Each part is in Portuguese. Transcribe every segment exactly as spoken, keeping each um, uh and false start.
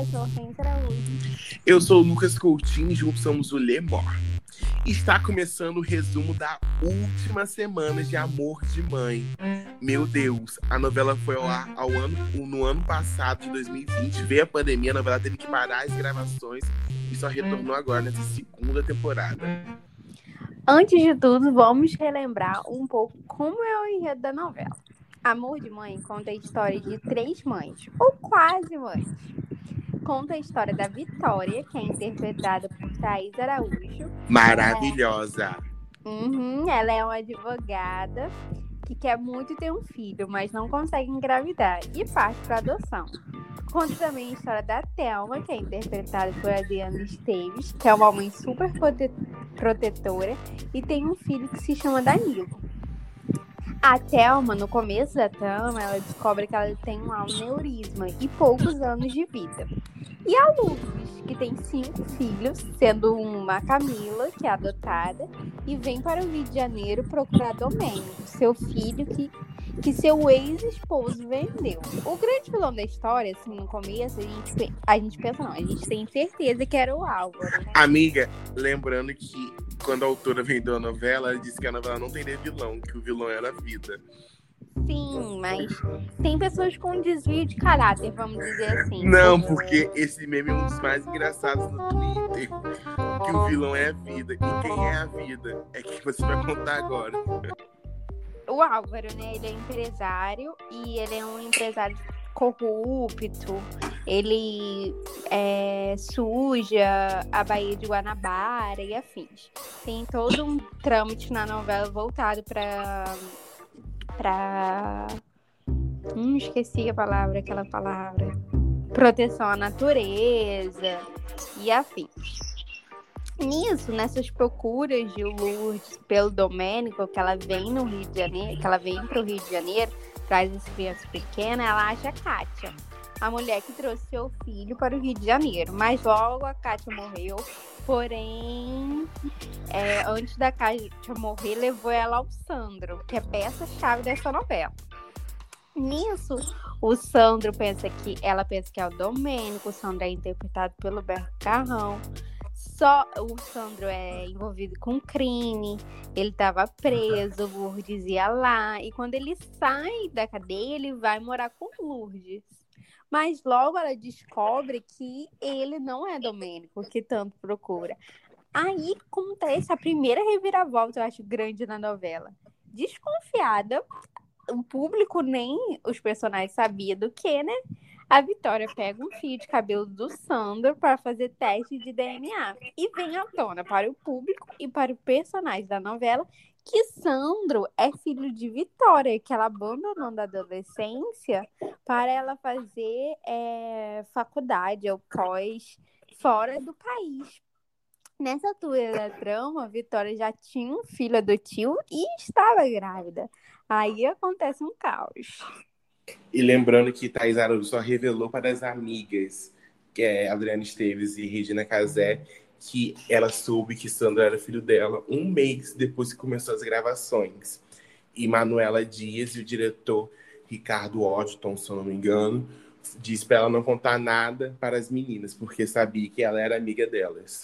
eu sou a Hortência Araújo. Eu sou o Lucas Coutinho e juntos somos o Lemor. Está começando o resumo da última semana de Amor de Mãe. Meu Deus, a novela foi ao ar ao ano, no ano passado, de dois mil e vinte. Veio a pandemia, a novela teve que parar as gravações e só retornou agora nessa segunda temporada. Antes de tudo, vamos relembrar um pouco como é o enredo da novela. Amor de Mãe conta a história de três mães, ou quase mães. Conta a história da Vitória, que é interpretada por Thaís Araújo. Maravilhosa! Uhum, ela é uma advogada que quer muito ter um filho, mas não consegue engravidar e parte para adoção. Conta também a história da Thelma, que é interpretada por Adriana Esteves, que é uma mãe super prote- protetora e tem um filho que se chama Danilo. A Thelma, no começo da trama, ela descobre que ela tem um aneurisma e poucos anos de vida. E a Lourdes, que tem cinco filhos, sendo uma Camila, que é adotada, e vem para o Rio de Janeiro procurar Domênico, seu filho que, que seu ex-esposo vendeu. O grande vilão da história, assim, no começo, a gente, a gente pensa, não, a gente tem certeza que era o Álvaro, né? Amiga, lembrando que quando a autora vendeu a novela, ela disse que a novela não teria vilão, que o vilão era a vida. Sim, mas tem pessoas com desvio de caráter, vamos dizer assim. Não, porque esse meme é um dos mais engraçados no Twitter. Que o vilão é a vida. E quem é a vida? É quem você vai contar agora. O Álvaro, né? Ele é empresário e ele é um empresário corrupto. Ele é, suja a Baía de Guanabara e afins. Tem todo um trâmite na novela voltado para... pra... Hum, esqueci a palavra, aquela palavra. Proteção à natureza e afins. Nisso, nessas procuras de Lourdes pelo Domênico, que ela vem no Rio de Janeiro, que ela vem para o Rio de Janeiro, traz as crianças pequenas, ela acha a Kátia, a mulher que trouxe seu filho para o Rio de Janeiro. Mas logo a Kátia morreu, porém, é, antes da Kátia morrer, levou ela ao Sandro, que é peça-chave dessa novela. Nisso, o Sandro pensa que, ela pensa que é o Domênico, o Sandro é interpretado pelo Berto Carrão. Só o Sandro é envolvido com crime, ele estava preso, Lourdes ia lá, e quando ele sai da cadeia, ele vai morar com Lourdes. Mas logo ela descobre que ele não é Domênico, que tanto procura. Aí acontece a primeira reviravolta, eu acho, grande na novela. Desconfiada, o público nem os personagens sabiam do que, né? A Vitória pega um fio de cabelo do Sandro para fazer teste de D N A. E vem à tona para o público e para o personagem da novela que Sandro é filho de Vitória, que ela abandonou da adolescência para ela fazer é, faculdade ou pós fora do país. Nessa altura da trama, Vitória já tinha um filho adotivo e estava grávida. Aí acontece um caos. E lembrando que Thaís Araújo só revelou para as amigas, que é Adriana Esteves e Regina Casé, que ela soube que Sandro era filho dela um mês depois que começou as gravações. E Manuela Dias e o diretor Ricardo Washington, se eu não me engano, disse para ela não contar nada para as meninas, porque sabia que ela era amiga delas.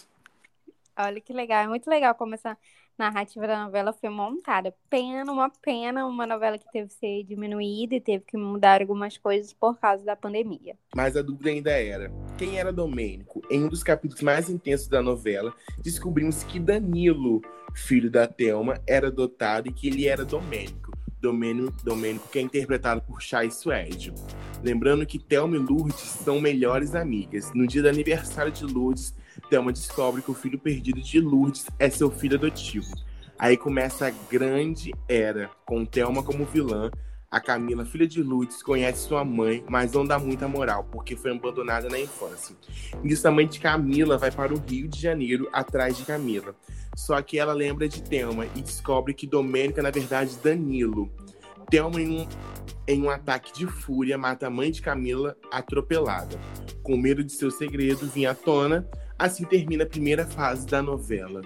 Olha que legal, é muito legal como essa narrativa da novela foi montada. Pena, uma pena, uma novela que teve que ser diminuída e teve que mudar algumas coisas por causa da pandemia. Mas a dúvida ainda era, quem era Domênico? Em um dos capítulos mais intensos da novela, descobrimos que Danilo, filho da Thelma, era adotado e que ele era Domênico. Domênico, Domênico que é interpretado por Chay Suede. Lembrando que Thelma e Lourdes são melhores amigas. No dia do aniversário de Lourdes, Thelma descobre que o filho perdido de Lourdes é seu filho adotivo. Aí começa a grande era, com Thelma como vilã. A Camila, filha de Lourdes, conhece sua mãe, mas não dá muita moral, porque foi abandonada na infância. Nisso, a mãe de Camila vai para o Rio de Janeiro atrás de Camila. Só que ela lembra de Thelma e descobre que Domênico é, na verdade, Danilo. Thelma, em um, em um ataque de fúria, mata a mãe de Camila atropelada. Com medo de seu segredo vir à tona, assim termina a primeira fase da novela.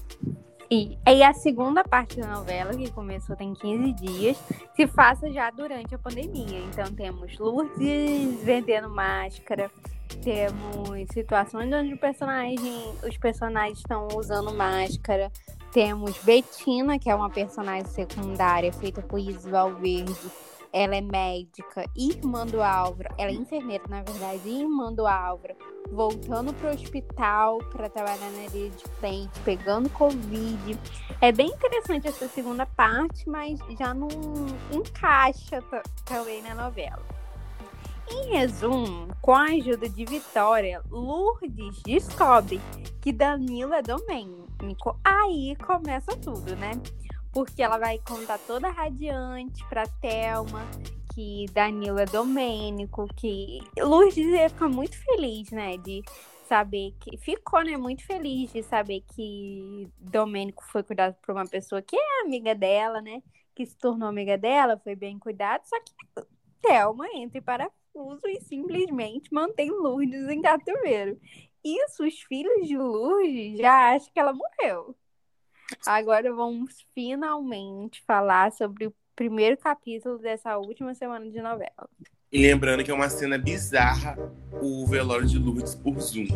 E, e a segunda parte da novela, que começou tem quinze dias, se passa já durante a pandemia. Então temos Lourdes vendendo máscara, Temos situações onde o personagem, os personagens estão usando máscara. Temos Betina, que é uma personagem secundária feita por Isis Valverde. Ela é médica, irmã do Álvaro. Ela é enfermeira, na verdade, irmã do Álvaro. Voltando pro hospital para trabalhar na linha de frente, pegando Covid. É bem interessante essa segunda parte, mas já não encaixa t- também na novela. Em resumo, com a ajuda de Vitória, Lourdes descobre que Danilo é Domênico. Aí começa tudo, né? Porque ela vai contar toda radiante pra Thelma que Danilo é Domênico, que Lourdes ia ficar muito feliz, né? De saber que... Ficou, né? Muito feliz de saber que Domênico foi cuidado por uma pessoa que é amiga dela, né? Que se tornou amiga dela, foi bem cuidado. Só que Thelma entra em parafuso e simplesmente mantém Lourdes em cativeiro. Isso, os filhos de Lourdes já acham que ela morreu. Agora vamos finalmente falar sobre o primeiro capítulo dessa última semana de novela. E lembrando que é uma cena bizarra o velório de Lourdes por Zoom.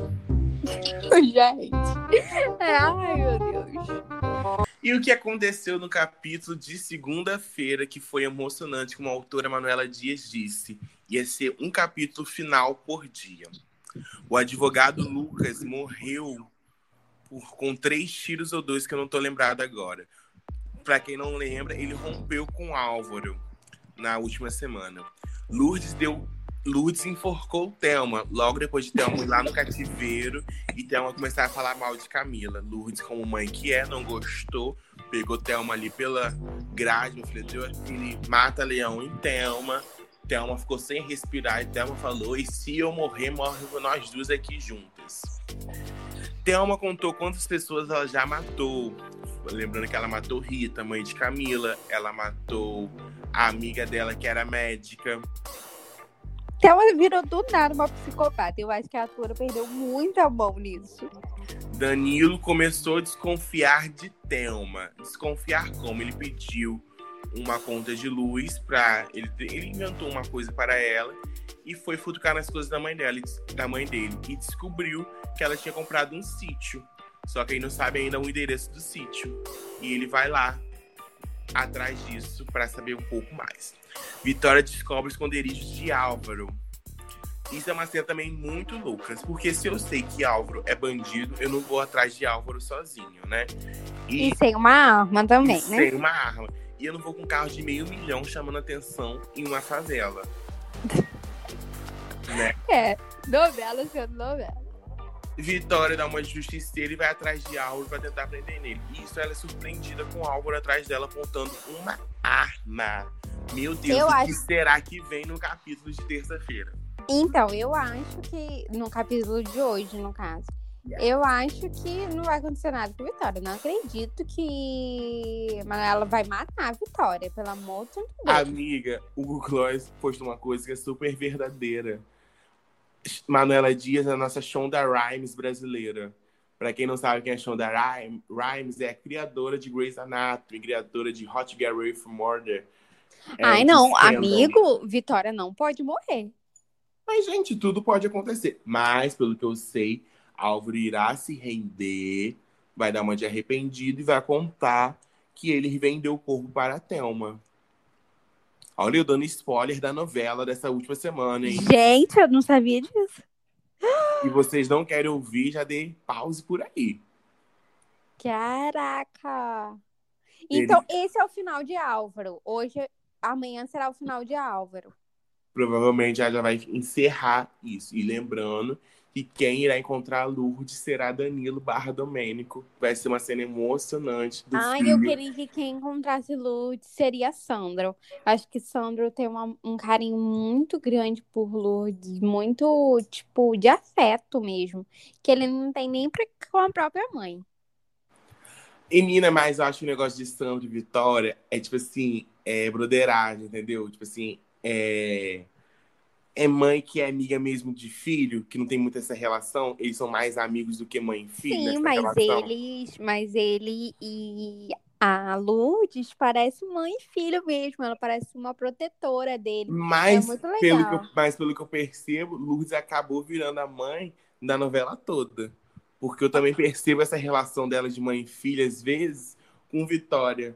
Gente, ai meu Deus. E o que aconteceu no capítulo de segunda-feira, que foi emocionante, como a autora Manuela Dias disse, ia ser um capítulo final por dia. O advogado Lucas morreu por, com três tiros ou dois, que eu não tô lembrado agora. Pra quem não lembra, ele rompeu com Álvaro na última semana. Lourdes deu... Lourdes enforcou Thelma, logo depois de Thelma ir lá no cativeiro e Thelma começar a falar mal de Camila. Lourdes, como mãe que é, não gostou, pegou Thelma ali pela grade, meu filho, deu aquele mata-leão em Thelma. Thelma ficou sem respirar e Thelma falou: e se eu morrer, morre nós duas aqui juntas. Thelma contou quantas pessoas ela já matou. Lembrando que ela matou Rita, mãe de Camila. Ela matou a amiga dela, que era médica. Thelma virou do nada uma psicopata. Eu acho que a atora perdeu muita mão nisso. Danilo começou a desconfiar de Thelma. Desconfiar como? Ele pediu uma conta de luz pra... Ele, ele inventou uma coisa para ela e foi futucar nas coisas da mãe dela, da mãe dele. E descobriu que ela tinha comprado um sítio. Só que ele não sabe ainda o endereço do sítio. E ele vai lá atrás disso para saber um pouco mais. Vitória descobre os esconderijos de Álvaro. Isso é uma cena também muito louca, porque se eu sei que Álvaro é bandido, eu não vou atrás de Álvaro sozinho, né? E, e sem uma arma também, e né? Sem uma arma. E eu não vou com um carro de meio milhão chamando atenção em uma favela. Né? É, novela sendo novela. Vitória dá uma justiceira e vai atrás de Álvaro pra tentar prender nele. Isso, ela é surpreendida com Álvaro atrás dela apontando uma arma. Meu Deus, eu o acho... que será que vem no capítulo de terça-feira? Então, eu acho que, no capítulo de hoje, no caso, eu acho que não vai acontecer nada com a Vitória. Não acredito que Manuela vai matar a Vitória, pelo amor de Deus. Amiga, o Google Gloss postou uma coisa que é super verdadeira. Manuela Dias é a nossa Shonda Rhimes brasileira. Pra quem não sabe quem é Shonda Rhimes, é a criadora de Grey's Anatomy, criadora de Hot Get Ready for Murder. É, Ai, não, amigo, Vitória não pode morrer. Mas, gente, tudo pode acontecer. Mas, pelo que eu sei, Álvaro irá se render, vai dar uma de arrependido e vai contar que ele vendeu o corpo para a Thelma. Olha, eu dando spoiler da novela dessa última semana, hein? Gente, eu não sabia disso. E vocês não querem ouvir, já dei pause por aí. Caraca! Então, ele... esse é o final de Álvaro. Hoje, amanhã será o final de Álvaro. Provavelmente ela já vai encerrar isso. E lembrando que quem irá encontrar a Lourdes será Danilo barra Domênico. Vai ser uma cena emocionante do Ai, filme. eu queria que quem encontrasse Lourdes seria Sandro. Acho que Sandro tem uma, um carinho muito grande por Lourdes. Muito, tipo, de afeto mesmo. Que ele não tem nem pra, com a própria mãe. E, Nina, mas eu acho que o negócio de Sandro e Vitória é, tipo assim, é broderagem, entendeu? Tipo assim, é... É mãe que é amiga mesmo de filho, que não tem muito essa relação. Eles são mais amigos do que mãe e filho. Sim, nessa mas relação. eles, mas ele e A Lourdes parece mãe e filho mesmo. Ela parece uma protetora dele. É Mas muito pelo que eu, legal. mas pelo que eu percebo, Lourdes acabou virando a mãe da novela toda. Porque eu também percebo essa relação dela de mãe e filha, às vezes, com Vitória.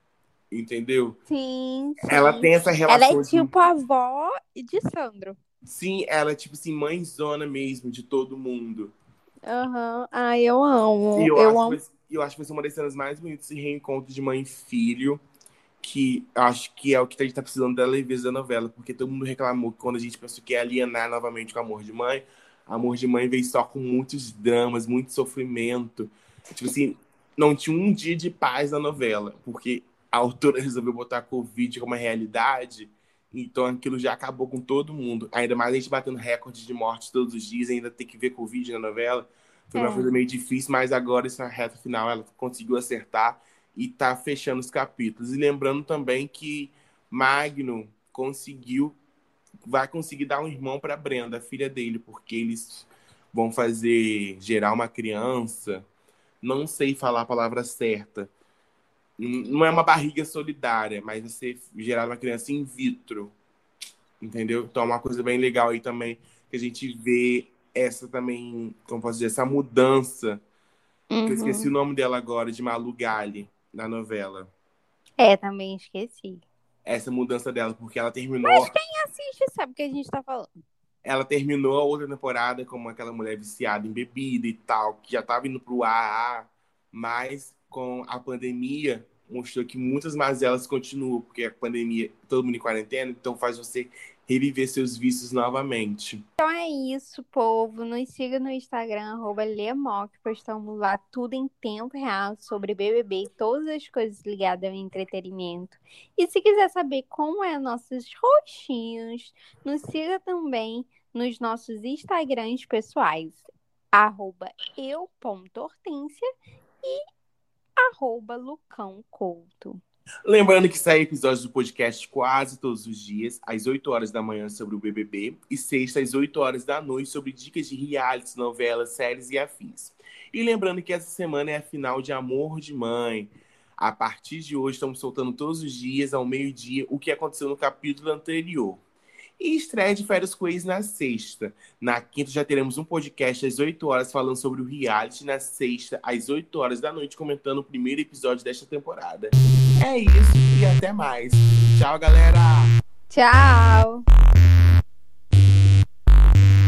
Entendeu? Sim, Ela sim. tem essa Ela é relação de. tipo a avó de Sandro. Sim, ela é tipo assim, mãezona mesmo de todo mundo. Aham. Ai, eu E amo. eu Eu acho que vai, amo. eu acho que vai ser uma das cenas mais bonitas esse reencontro de mãe e filho, que acho que é o que a gente tá precisando da leveza da novela, porque todo mundo reclamou que quando a gente pensou que ia alienar novamente com Amor de Mãe, Amor de Mãe veio só com muitos dramas, muito sofrimento. Tipo assim, não tinha um dia de paz na novela, porque a autora resolveu botar a Covid como uma realidade, então aquilo já acabou com todo mundo. Ainda mais a gente batendo recorde de mortes todos os dias, ainda tem que ver Covid na novela. Foi uma É, coisa meio difícil, mas agora, essa reta final, ela conseguiu acertar e tá fechando os capítulos. E lembrando também que Magno conseguiu, vai conseguir dar um irmão para Brenda, a filha dele, porque eles vão fazer gerar uma criança. Não sei falar a palavra certa. Não é uma barriga solidária, mas você gerar uma criança in vitro, entendeu? Então é uma coisa bem legal aí também que a gente vê essa também, como posso dizer, essa mudança, que eu esqueci o uhum. nome dela agora, de Malu Gali, na novela. É, também esqueci. Essa mudança dela, porque ela Mas terminou, quem assiste sabe o que a gente tá falando. ela terminou a outra temporada como aquela mulher viciada em bebida e tal, que já estava indo pro A A, mas com a pandemia mostrou que muitas mazelas continuam, porque a pandemia, todo mundo em quarentena, então faz você reviver seus vícios novamente. Então é isso, povo. Nos siga no Instagram, arroba Lemoc, postamos lá tudo em tempo real sobre B B B e todas as coisas ligadas ao entretenimento. E se quiser saber como é nossos rostinhos, nos siga também nos nossos Instagrams pessoais, arroba eu.hortência e arroba Lucão Couto. Lembrando que sai episódios do podcast quase todos os dias, às oito horas da manhã sobre o B B B e sexta às oito horas da noite sobre dicas de realities, novelas, séries e afins. E lembrando que essa semana é a final de Amor de Mãe. A partir de hoje estamos soltando todos os dias, ao meio-dia, o que aconteceu no capítulo anterior. E estreia de Férias com Ex na sexta. Na quinta já teremos um podcast às oito horas falando sobre o reality. Na sexta, às oito horas da noite, comentando o primeiro episódio desta temporada. É isso e até mais. Tchau, galera! Tchau!